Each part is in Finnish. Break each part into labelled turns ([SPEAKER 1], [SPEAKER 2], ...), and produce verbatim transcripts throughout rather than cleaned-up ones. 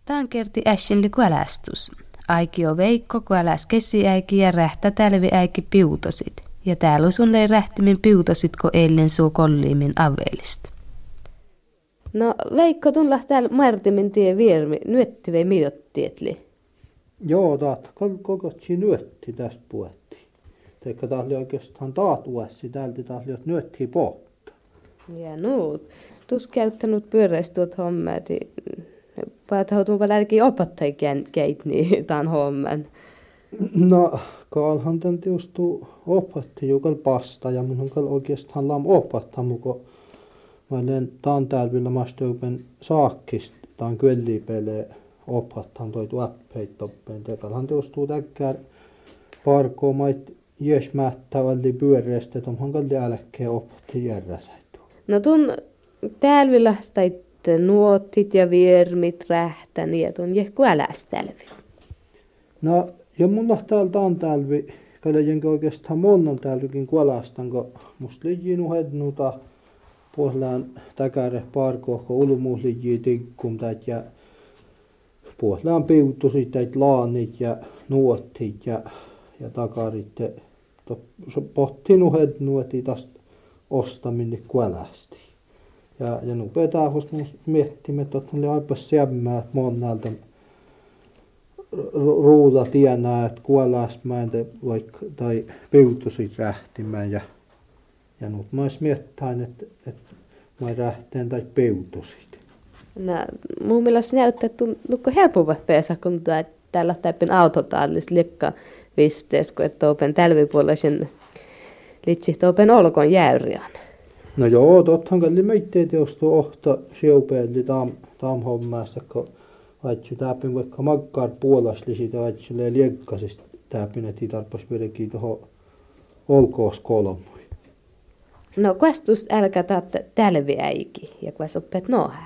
[SPEAKER 1] Tämän kerti äskenli kuälästus. Aiki on Veikko kuäläs kesiäiki ja rähtä tälviäiki piutosit. Ja täällä on sun lei rähtimin piutosit, kun eilen suu kolliimin aveilista. No Veikko, tunlah täällä Martimin tie viermi. Nyötti vei miottietli?
[SPEAKER 2] Joo, taat kokotsi nyötti tästä puhuttiin. Teikka taas oli oikeastaan taat uussi täältä taas oli nyötti pohta.
[SPEAKER 1] Ja nuut. Tuus käyttänyt pyöräistuot hommat. Päätähutun paljon älki opettai keit niin tämän homman.
[SPEAKER 2] No, kaalhan tän tiustuu opatti jukal pasta ja mun on oikeastaan lam opattaa muko. Mä olen taan tälvillä maasteupen saakkista, taan kyllipele opattaan toi tuoppeit toppeen. Tekalhan tiustuu täkkär parkoo mait jesmättä valli pyöreästä, että onhan kalli älkkeen opatti järräsäitu.
[SPEAKER 1] No tun tälvillä tai nuottit ja viermit rähtä, niin että on jehku äläs tälvi.
[SPEAKER 2] No, ja mulla täällä on tälvi, kalle jenkä oikeastaan monnon tälvikin kuolastan, kun musta liiin uhednuta puolellaan täkäre parkohko ulumuus liiin tikkum täät ja puolellaan piutusit täät laanit ja nuottit ja, ja takarit. Pohtiin uhednuoti tästä ostaminen kuolasti. Ja, ja nu pitää miettiä, että oli aipas sämmää monelta ruuda tienaa, että kuolasmään vaikka tai piutusit rähtimään. Ja, ja nyt mä ois miettäin, että, että mä rähteen tai piutusit.
[SPEAKER 1] No mun mielestä näyttää, että nukko helpompi päässä, kun täällä täppin autotaallis liekka vistees, kun että open tälvipuolisen litsihto open olkon jäyriän.
[SPEAKER 2] No joo, tottahan kalli meitteet jostu ohta siupeelli tam, tam hommasta, kun vaitsi täpin vaikka makkaar puolasli siitä vaitsi liekkasista täpin, että ei tarpas vedekin tuohon olkoos kolmui.
[SPEAKER 1] No kuestus älkä taat tälviäiki ja kues oppeet nohää?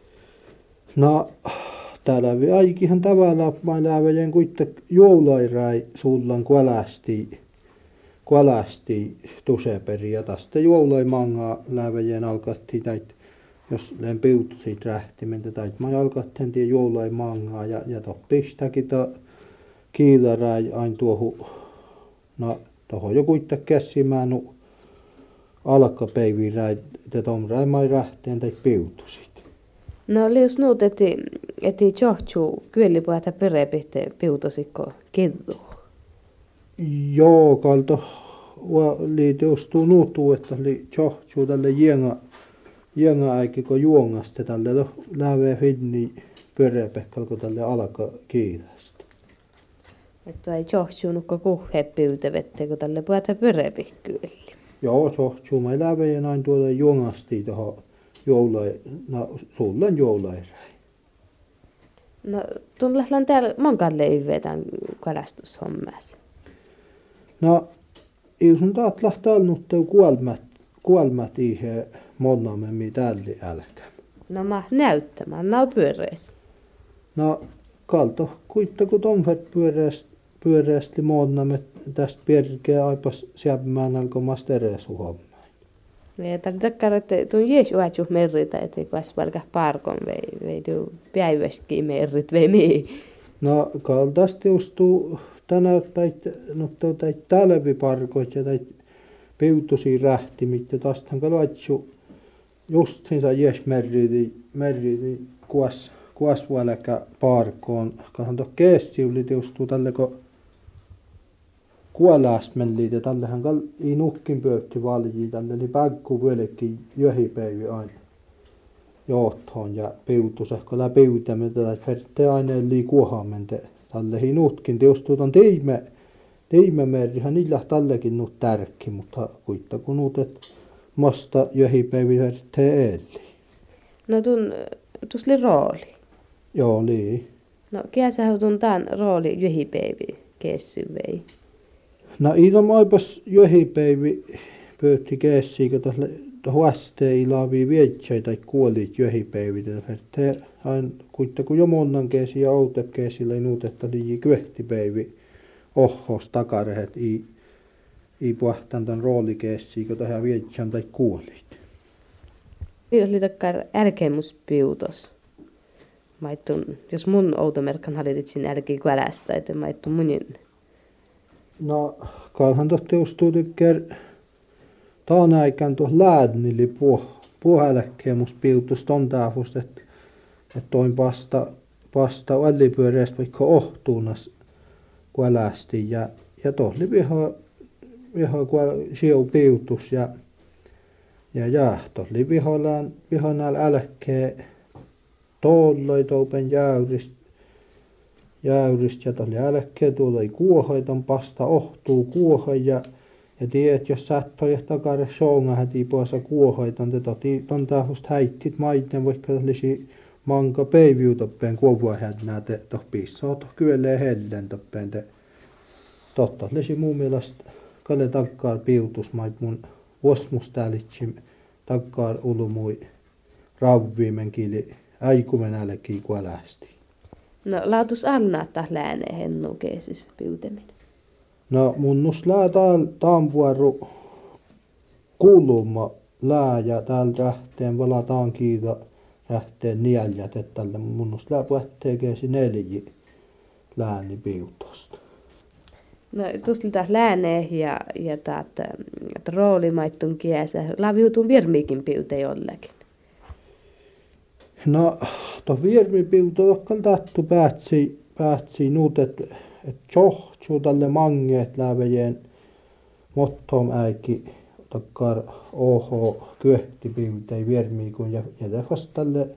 [SPEAKER 2] No tälviäikihän tavallaan mä läväjen kuitte joulairai sullan kuolästi. Kuolasti tuseperi ja tästä juoloi mangaa läväjien alkasti täit, jos len piutusit rähtimentä täit mä alkattiin tie juoloi mangaa ja, ja toppistakin ta kiilarai ain tuohu, no tohon jo kuitte kässimään nu alkapäiviin räi, te tomrai mai rähteen täit piutusit.
[SPEAKER 1] No lius nuut, eti, eti johtuu kyölipuhata perepihte piutusikko kirru.
[SPEAKER 2] Joo, kalto oli justuu nuutuu, että oli johtuu tälle jenga, jenga äikki, kun juongasta tälle läveä finni pyöreäpehkalko tälle alka kiireesti.
[SPEAKER 1] Että ei johtuu nukko kuhheppiutevettä, kun tälle puhuta pyöreäpihkyöli.
[SPEAKER 2] Joo, johtuu. Mä läveä näin tuolla juongasti tuohon joulai, no sullan joulairäi.
[SPEAKER 1] No, tuollahan täällä monkaan leivetään kalastushommassa.
[SPEAKER 2] No, jos on taat lähtee nyt kuolmat, kuolmat ihe monnamme tälli älkä.
[SPEAKER 1] No mä näyttämään, nää on pyöreäs.
[SPEAKER 2] No, kalto kuittaku tomfet pyöreästi, pyöreästi monnamme tästä pierkeä aipas siäpmään alkomasta eresu hommaan.
[SPEAKER 1] Ja tällä takkara, että tuon jees uatjuh merritä, ettei kuas valka parkon vei, vei tuu päiväskin merrit vei mii.
[SPEAKER 2] No, kaltaasti justuu tänä täit, no täit talviparkoit ja täit piutusia rähtimit ja tästähän kalaitsu just siinä jes merriti, merriti kuas, kuas vuoläkä parkoon. Kahan tuo keessiulit justuu tälle kun kuolasmelliit ja tällähän kal ei nukkin pöytti valjii tälle eli päkku vuolekin johipäivi aina johtoon ja piutus ehkä lä piutämme tätä ferte aineen lii kuohamente. Tälle ei nutkin teostuu ton teime, teimemerrihän niillä tällekin nut tärkki, mutta kuitta kun nuutet masta johipäivi ferte eli.
[SPEAKER 1] No tun, tusli rooli.
[SPEAKER 2] Joo, lii.
[SPEAKER 1] No kiäsä tun tän rooli johipäivi keessy vei.
[SPEAKER 2] No ilman aipas johipäivi pöytti keessii, kun tuossa huastee ilaavia vietsei tai kuolit johipäivitä. Te aina kuitta kun jo monnan keesi ja outekeesillä ei nuutetta liii kyöhtipäivi ohos takarehet ei, ei puhtaan tämän roolikeessiä, kun tähän vietsän tai kuolit.
[SPEAKER 1] Piitos oli takkar älkemuspiutos. Maittun, jos mun outomerkan hallitit sinne älkii kuälästä, että maittun munin.
[SPEAKER 2] No, kalhan tohti teustuu tykkär taan aikaan tuossa läädnili puh, puhelekkeemus piutus ton taafust, että et toin pasta, pasta vällipyöreästä vaikka ohtuunas kuälästi ja, ja tohli viha, viha siu piutus ja ja ja tohli vihollaan vihonal älkkee tolloi toupen jäyrist jäyrist ja tohli älkkee tuolloi kuohaiton pasta ohtuu kuohai ja ja tiedät, jos sattoi takare soonga häti puolessa kuohaiton, te toti ton taahust häittit maitten, vaikka tollisi manka peiviu toppeen kuovua hädnää te toh pissoo toh kyölee hellen toppeen te totta lisi muun mielestä kalle takkaar piutus mait mun vuosmustälitsim takkaar ulumui ravviimen kiili äikumen älkii kuälästi.
[SPEAKER 1] No laatus annaa taas lääneen hennu keesis piuteminen.
[SPEAKER 2] No mun nus lää tääl taanpuaru kuluma lää ja tääl rähteen valataan kiita rähteen nieljät, että tälle mun nus lää puhtee keesi neljä lääni piutosta.
[SPEAKER 1] No tuosta taas lääneen ja, ja taat roolimaittuun kiesä. Laviutun virmiikin piute jollakin.
[SPEAKER 2] No, to virmi piuto okkal tattu päätsi, päätsi nuut, että et tjohtsuu tälle mangeet lävejeen mottom äiki takkar oho kyöhti piutei virmiikun ja ja tefas tälle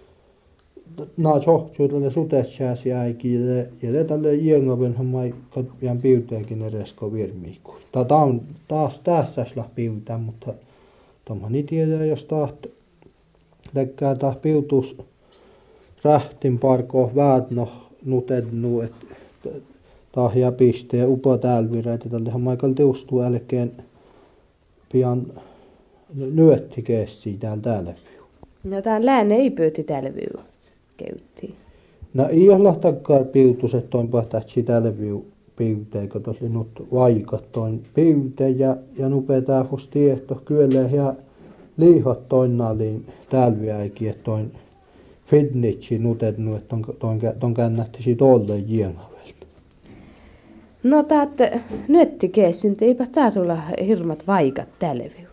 [SPEAKER 2] naa tjohtsuu tälle sutetsääsi äiki ja ja tälle jängaven hammai katpian piuteekin eresko virmiikun. Ta taun taas tässäs lah piutää, mutta tomani tiedä jos taht läkkää taas piutus rähtin parko väät no nutednu et tahja piste ja upo tälvireitä tällehän maikal teustuu älkeen pian nyötti keessiä täällä täällä.
[SPEAKER 1] No tää lääne ei pyyti tälviu käyttiin.
[SPEAKER 2] No ei olla takkaan piutus, että on pahtaatsi tälviu piuteen, kun tosi nyt vaikat toin piute ja, ja nupetaa fus tiehto kyllä ja liihat toinnaliin tälviäikin, että toin fitnitsi nutetnu, että ton, ton, ton kännättisi tolle jiengavelta.
[SPEAKER 1] No taat nyötti keessin, eipä tää tulla hirmat vaikat tälviu.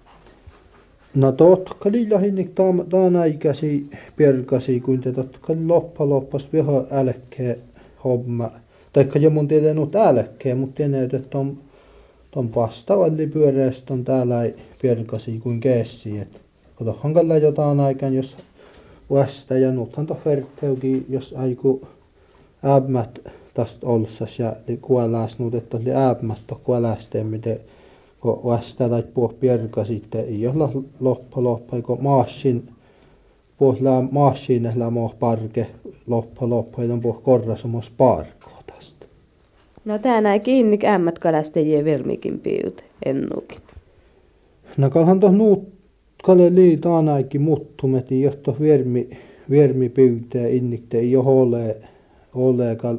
[SPEAKER 2] No totka lillahinnik taan aikäsi perkasi, kuin te totka loppa loppas viha älkkee homma. Taikka jo mun tietää nuut älkkee, mutta tiedän, että ton, ton pastavalli pyöreästä on täällä ei perkasi kuin keessi. Et kotohan kalla jotain aikaan, jos vasta ja nuuthan to vertteukin, jos aiku ämmät tästä olsas ja kuoläs nuut, että oli ämmät to kuolästeen, miten kun vasta tai puh pierka sitten ei olla loppa loppa, kun maassin puh lää maassin lää moh parke loppa loppa, ja puh korrasamos parko tästä.
[SPEAKER 1] No tää näin kiinni ämmät kalastajien vermikin piut ennukin.
[SPEAKER 2] No kalhan toh nuut kalle liitaan ainakin muttumet, johto vermi vermi pyytää innikte ei ole ole kal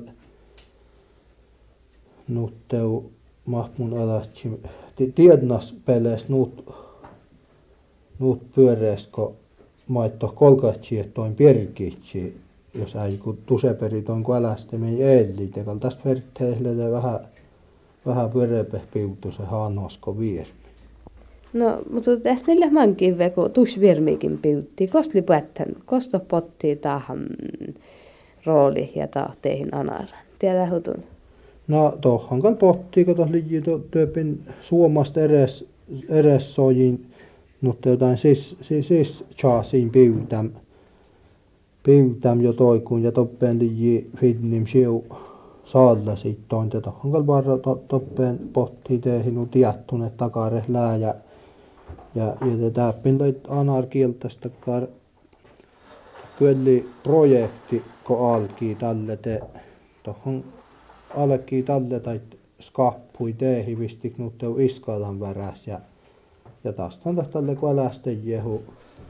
[SPEAKER 2] nuutteu mahmun alatsi tiednas peles nuut nuut pyöreäsko maitto kolkatsi et toin pierkitsi jos ei kun tuseperi toin kun älästemen eelli tekal tästä verteelle vähän vähän pyöreäpeh piutu se haanosko viermi.
[SPEAKER 1] No mutta tästä neljä mankin veko tus viermiikin piutti kostli päättän kosto potti tahan rooli ja tahteihin anaran tiedä hutun.
[SPEAKER 2] No tohon kal potti, kun tuossa liji työpin suomasta eres, eres sojin, mutta jotain siis, siis, siis chaasiin piutäm, piutäm jo toikuun ja toppeen liji fidnim siu saalla sit toin, ja tohon kal varra to, toppeen potti tehin u tiettunet takare lää ja ja, ja täppin loit anar kieltästä kar kyllä projekti, kun alkii tälle te tohon alkii tälle tai skappui teehi vistik nuutteu iskalan väräs ja ja taas on tälle kun älästejehu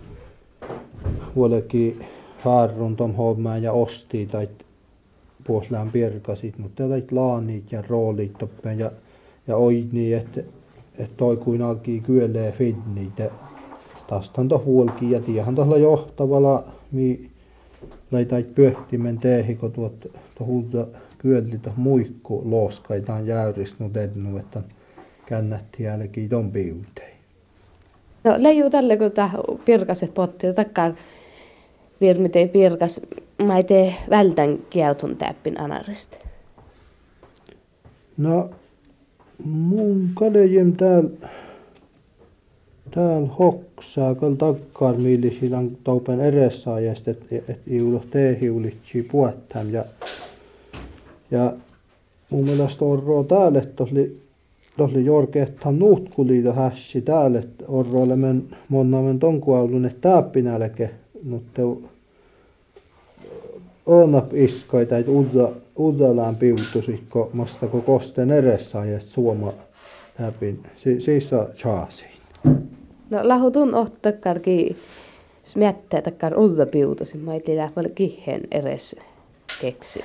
[SPEAKER 2] huolekin harrun tom hommaan ja osti tai puoslään pierkasit nuutteu tai laanit ja roolit toppeen ja ja oini että et toi kuin alkii kyölee fidniitä taas on to huolki ja tiehän tohla johtavalla mi laitait pyöhtimen teehi, kun tuot tuolta kyölli tuoh muikku looskaitaan jäyrisnu tennu, että kännätti jälkeen ton piutei.
[SPEAKER 1] No leiju tälle, kun tämä pirkaset potti, takkaan virmitei pirkas, mä ei tee vältän kiautun täppin anarista.
[SPEAKER 2] No, mun kalejem täällä täällä hoksaa, kun takkaan miilisillä on toupen edessaajast, että et iulo teehiulitsi puottam. Ja, ja mun mielestä orroa täällä, että tosli, tosli jorkeettam nuutkuliito hässi täällä, että orroille men monnamen tonkuaulun, että täppinälke, mutta onap iskoita, että uudallaan piutusi, kun mastako kosten edessaajast suoma läpin. Si, siis on chaasiin.
[SPEAKER 1] No lahutun ohtakkarki smättää takkar uutta piutosi, mä ei tiedä paljon kihen edes keksin.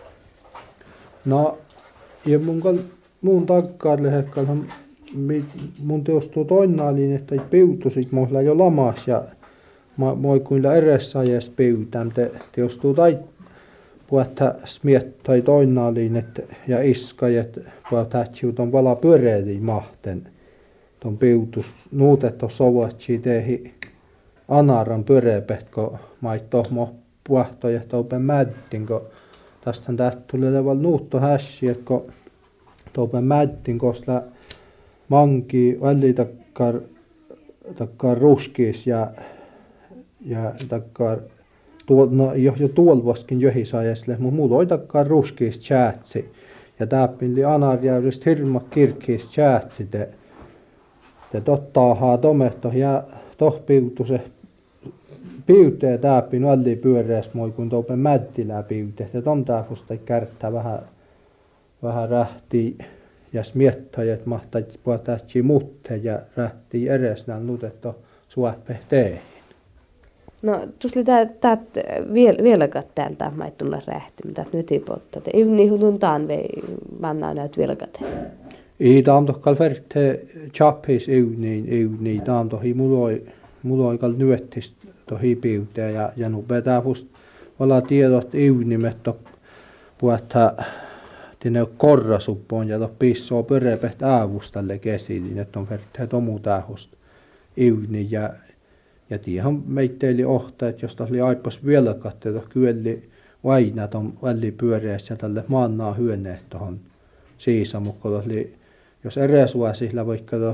[SPEAKER 2] No, ja mun, kal, mun takkar lehekkalhan mun teostuu toinnaaliin, että piutusit mulla jo lamas ja moi kuinka edessä ajassa piutään. Te teostuu tai puhuttaa smiettai toinnaaliin että, ja iskajat puhuttaa on vala pyöreäliin mahten. Tuon piutus nuutettu sovatsi tehi anaran pyöreäpät, kun mait tohmo puhtoja toupen mättin, kun tästä tästä tuli leval nuutto hässi, että kun toupen mättin, koska manki väli takkar, takkar ruskiis ja, ja takkar tuol, no, jo, jo tuolvaskin johisajasle, mutta muuta oli takkar ruskiis tjäätsi. Ja täppin anarjäyristä hirma kirkkiis tjäätsi te. Ja tottaahaa tomehto ja toh piutuse piutee täppin väli pyöreäs moi kun toupen mättilää piute. Ja tom tähfusta kärttää vähän, vähän rähtii ja smiettää, että mahtaisi puhutatsi mutte ja rähtii edes nää nutetto suohpehteihin.
[SPEAKER 1] No tuossa tää vielä vieläkään täältä maittunut rähti, mitä nyt ei pottaa. Ei niin huluntaan vei mannaa näyt vieläkään.
[SPEAKER 2] Ei taamtohkal verte chappis yvniin yvniin taamtohi muloi muloi kal nyöttis tohi piutea ja ja nu betää fust olla tiedot yvnimet to puhuttaa tinne korrasuppoon ja to pissoo pörepehtä aavustalle kesiin, että on verte tomu tähust yvni ja ja tiihan meitteili ohta, että jos oli aipas vielä katsoa kyölli vaina ton väli pyöreässä tälle maannaa hyöneet tohon siisamukko oli jos eräsuosilla vaikka to,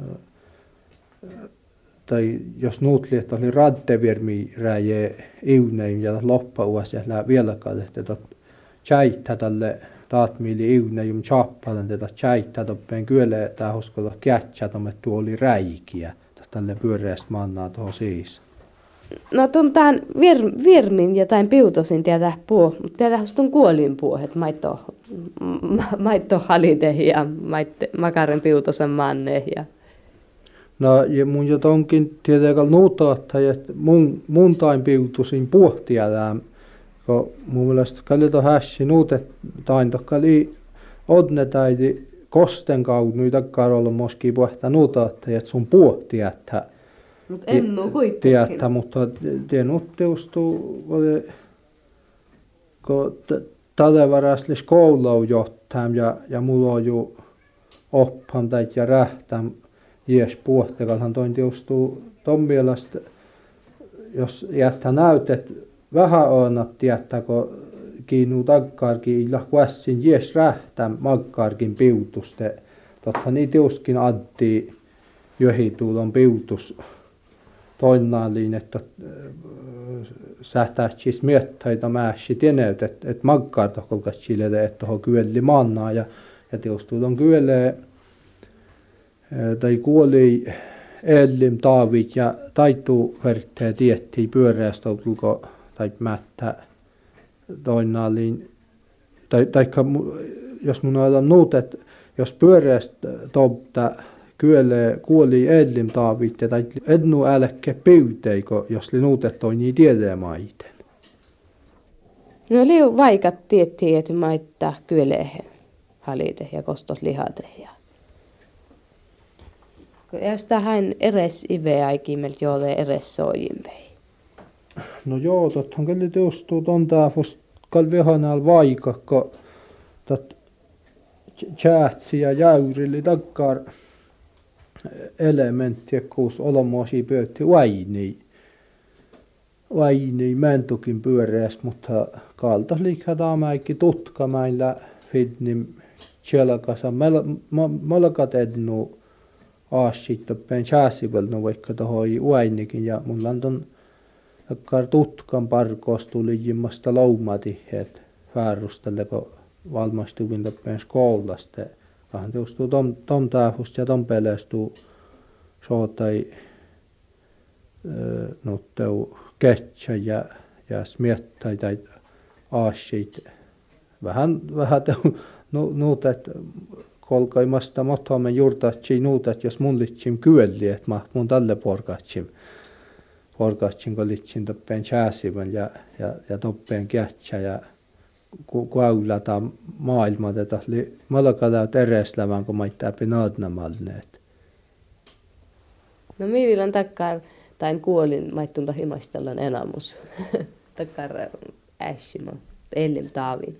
[SPEAKER 2] tai jos nuutli, että oli raddevirmi räjee iunein ja loppauassa ja vielä katsottiin, että tjäittä tälle taatmiili iunein chappalan, että tjäittä toppeen kyölle tämä uskolla kätsä, että tuo oli räikiä tälle pyöreästä mannaa tuohon siis.
[SPEAKER 1] No tuntaan vir, virmin jotain piutosin tietää puu, mutta tietää on kuolin puu, että maitto, maitto halite ja maitto, makaren piutosen manne. Ja.
[SPEAKER 2] No ja mun jo tonkin tietääkään nuutaattaa, että mun, mun tain piutosin puhtia tämän, kun mun mielestä kalli hässi nuutet tain tokkali odne taiti kosten kaudun takkaan olla moski puhtaa nuutaattaa, että sun puhtia, että
[SPEAKER 1] mutta en ole kuitenkin.
[SPEAKER 2] Tiedätä, mutta tienut teostuu, kun talevaraslis koulua johtaa ja, ja mulla on jo oppan tai ja rähtään jes puhtekalhan toin teostuu ton mielestä, jos jättää näytet vähän oonat tietää, kun kiinnuu takkaarkin illa kuessin jes rähtään makkaarkin piutuste. Totta niin teoskin addi johituudon piutus. Toinnaaliin, että sähtähtsis miettäitä määsi tieneyt, että et magkaar tohkolkas chilele, että tohon kyölli mannaa ja, ja teostuu ton kyölle tai kuoli ellim taavit ja taittuu vertee tiettiin pyöreästä tulko tai mättä toinnaaliin. Tai, taikka jos mun on nuutet, jos pyöreästä topta kyölle kuoli ellim taavit ja tai ednu älkkä pyyteikö, jos li nuutet toi niin tiedemaiten.
[SPEAKER 1] No liu vaikat tiettiin, että maittaa kyölle halite ja kostos lihate. Ja. Jos tähän eres ive aikimmelt jolle eres soijin vei.
[SPEAKER 2] No joo, tottahan kyllä teostuu ton taafus kalvihanal vaikakko tot tjäätsi ja jäyrilli takkar elementtiä kuus olomuosia pöytti vaini. Vaini mentukin pyöreäs, mutta kaltas liikaa taamäikki tutkamailla fidnim tjelkasa malkat ednu aasittopeen tjääsivelnu vaikka tohoi vainikin ja mulla on ton takkar tutkan parkoos tuli jimmasta loumatiheet fäärustalle kun valmastuvin toppeen skoulasta. Kahan teostuu tom, tom taafust ja tom peleestuu sootai no teu ketsä ja, ja smiettai tai aasit. Vähän, vähän teu nu, nuutet kolkaimasta mothaamen juurtatsi nuutet, jos mun litsim kyölli, että mä mun talle porkatsim. Porkatsim kun litsim toppeen tjääsivän ja, ja, ja toppeen ketsä ja kuaulata maailma tätä oli malakada tereslävän kun maittaa pinaadnamalneet.
[SPEAKER 1] No miivillä takkar tain kuolin maittunda himastellan enamus. Takkar ässima elim taavin.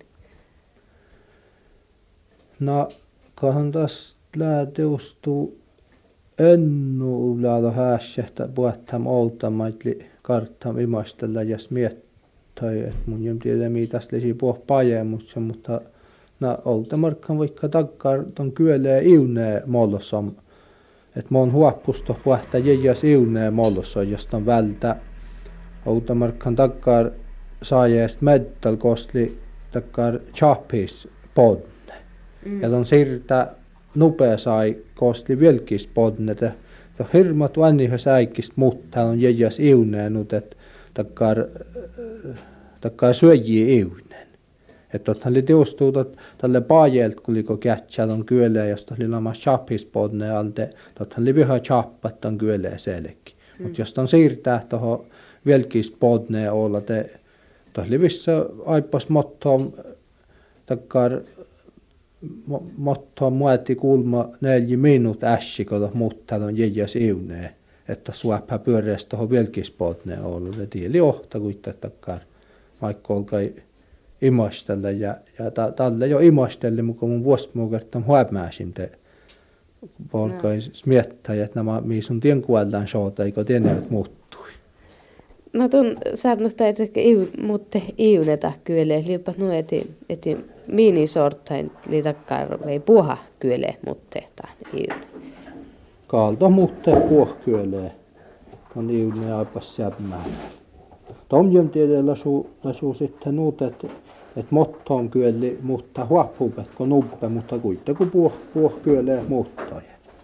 [SPEAKER 2] No kahan taas lääteustuu ennu ulaalo häässähtä puhtam outamaitli karttam imastella ja smiettä. Tai että mun jem tiedä mitäs lisi puh pajemutsa, mutta na oltamarkkan vaikka takkar ton kyölee iunee mollossam. Että mon huoppusto puhta jäjäs iunee mollossa, josta on vältä. Oltamarkkan takkar saajeest meddal kostli takkar chapis podne. Mm. Ja ton sirtä nupea sai kostli vilkis podne. Ja hirmat vanniha säikist mutta on jäjäs iunee nyt, että takkar takkar syöjiä iunen. Että tottahan oli teostuu tälle paajelta, kun liko kätsää ton kyölee, josta oli lama chapispodne alte, tottahan oli viha chappat ton kyölee selekki. Mm. Mutta jos ton siirtää tohon velkispodneen olla, te tossa oli vissä aipas mottoon takkar mottoon mueti kulma neljä minuut ässi, kun mutta ton jäjäs iuneen. Että suoppa pyöreästä tuohon velkispodneen olla. Ja tieli ohta kuitenkin takkar. Vaikka olkai imastella ja, ja ta, talle jo imastelle, mutta mun vuosimukertan huomaasin te olkai smiettää, että nämä missä tien kuollaan soota, eikö tieneet muuttui.
[SPEAKER 1] No tuon saanut että iu, mutta iuneta kyllä, liipat nu eti, eti minisortain li takkar vei puha kyllä, mutta iun.
[SPEAKER 2] Kaalto mutta puh kyllä, on iunne aipas sämmää. Tomjom tiedellä lasu, lasu sitten nuut, että et mottoon kyöli mutta huoppupet kun nuppe, mutta kuitenkin puh, puh kyölee muuttaa.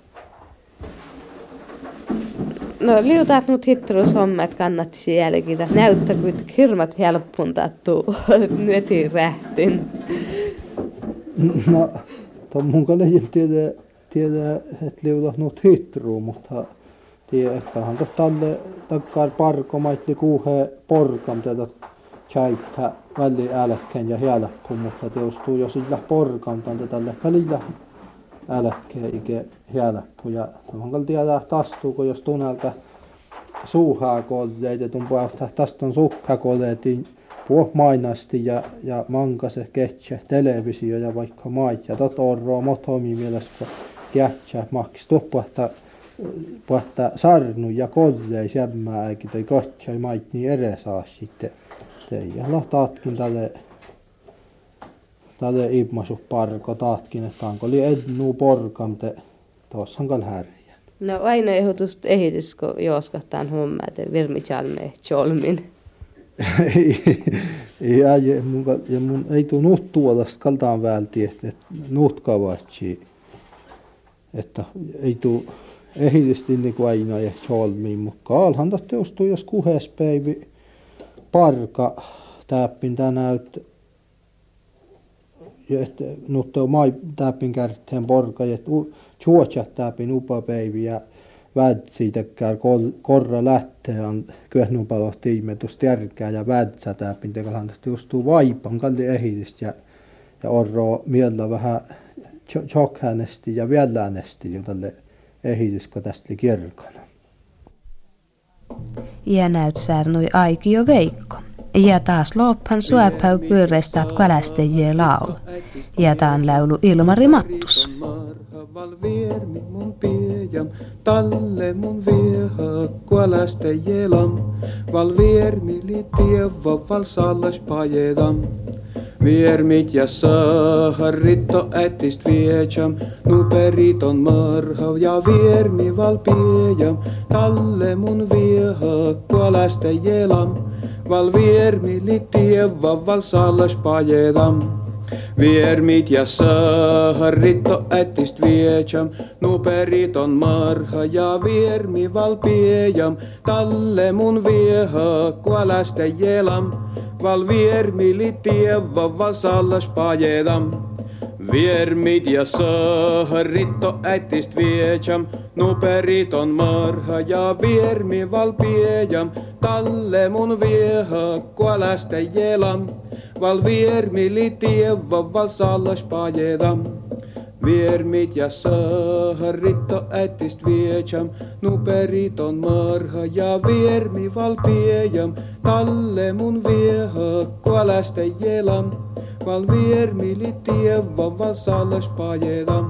[SPEAKER 1] No liutaat nyt hittelus homma, että kannattisi jälkeen. Näyttää kuitenkin hirmat helppuntattu nyötiin rähtin.
[SPEAKER 2] No, tuon mun kallekin tiedä, tiedä että liutat nyt hittruun, mutta tiedä, ettehän talle takkar parko maitli kuuhe porkam tätä chaittaa väli älkkeen ja jälkkuun, mutta teostuu jo sillä porkam tänne tälle välillä älkkeen ikä jälkku. Ja tuohon kalli tiedä tastuuko, jos tunnelta suuhaa kodeet ja tuon puolesta taston sukka kodeetiin puh mainasti ja, ja mankase ketsä televisio ja vaikka mait ja tot orroa motomi mielessä kun kätsä maks tuopuhta puhta sarnu ja kodei sämmää eikä toi kotsai mait niin ere saa sitten teijällä taatkin tälle tälle ilmaisu parko taatkin että onko oli ednu porkam te tuossa kal härjän.
[SPEAKER 1] No aina ehdotusta ehitys kun jooskahtaan hommaa te virmitjalme cholmin.
[SPEAKER 2] Ja, ja, mun, ja mun ei tuu nuut tuolasta kaltaan välti, että et, nuut kavatsi, että ei tuu ehitysti niin kuin aina ja cholmiin, mutta kaalhan tästä teostuu, jos kuhes päivi parka täppin tänäyt, että nuut on mai täppin kärteen porka, että juotsat täppin upapäivi ja vädsi tekää korra lähtee on kyöhnupalot tiimetus tärkeää ja vädsä täpin tekalhan justuu vaipan kalli ehitistä ja ja orro miellä vähän chokhänesti ja vieläänesti jo tälle ehitys kun tästä kirkana.
[SPEAKER 1] Ja näytsäärnui Aikio Veikko. Ja taas loppan suopäy pyöreistä kalastajien laulu. Ja taan laulu Ilmari Mattus.
[SPEAKER 3] Val viermi mun piejam, talle mun vieha kalastajielam. Val viermi li tieva val sallas pajedam. Viermit ja saharitto ätist viejam, nu periton marhav ja viermi val piejam, talle mun vieha kalastajielam. Val viermi li tieva val sallas pajedam. Viermit ja saharitto ätist viejam, nu periton marha ja viermi val piejam, talle mun vieha kalastajielam. Val viermi li tieva val sallas pajedam. Viermit ja saharitto ätist viejam, nu periton marha ja viermi val piejam, talle mun vieha kalastajielam. Val viermi li tieva val sallas pajedam. Viermit ja saharitto ätist viejam, nu periton marha ja viermi val piejam, talle mun vieha kalastajielam. Val viermi li tieva val sallas pajedam.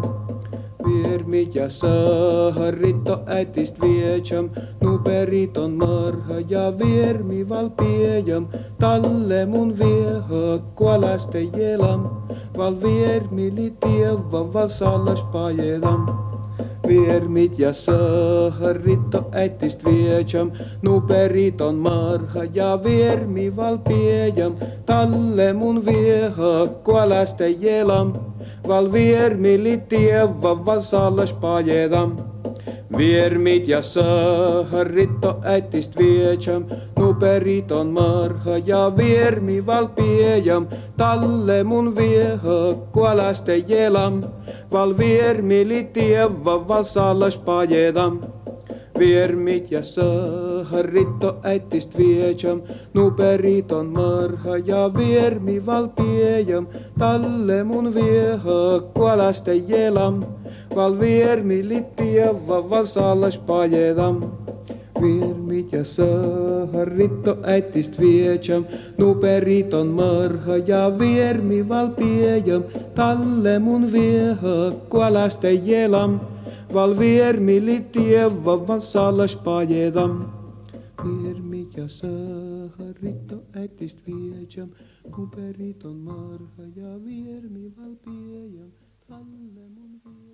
[SPEAKER 3] Viermit ja saharitto ätist viejam, nu periton marha ja viermi val piejam, talle mun vieha kalastajielam. Val viermi li tieva val sallas pajedam. Viermit ja saharitto ätist viejam, nu periton marha ja viermi val piejam, talle mun vieha kalastajielam. Val viermi li tieva val sallas pajedam. Viermit ja saharitto ätist viejam, nu periton marha ja viermi val piejam, talle mun vieha kalastajielam. Val viermi li tieva val sallas pajedam. Viermit ja saharitto ätist viejam, nu periton marha ja viermi val piejam, talle mun vieha kalastajielam. Val viermi li tieva val sallas pajedam. Viermit ja saharitto ätist viejam, nu periton marha ja viermi val piejam, talle mun vieha kalastajielam. Val viermi li tieva val sallas pajedam. Viermit ja saharitto ätist viejam, nu periton marha ja viermi val piejam, talle mun vieha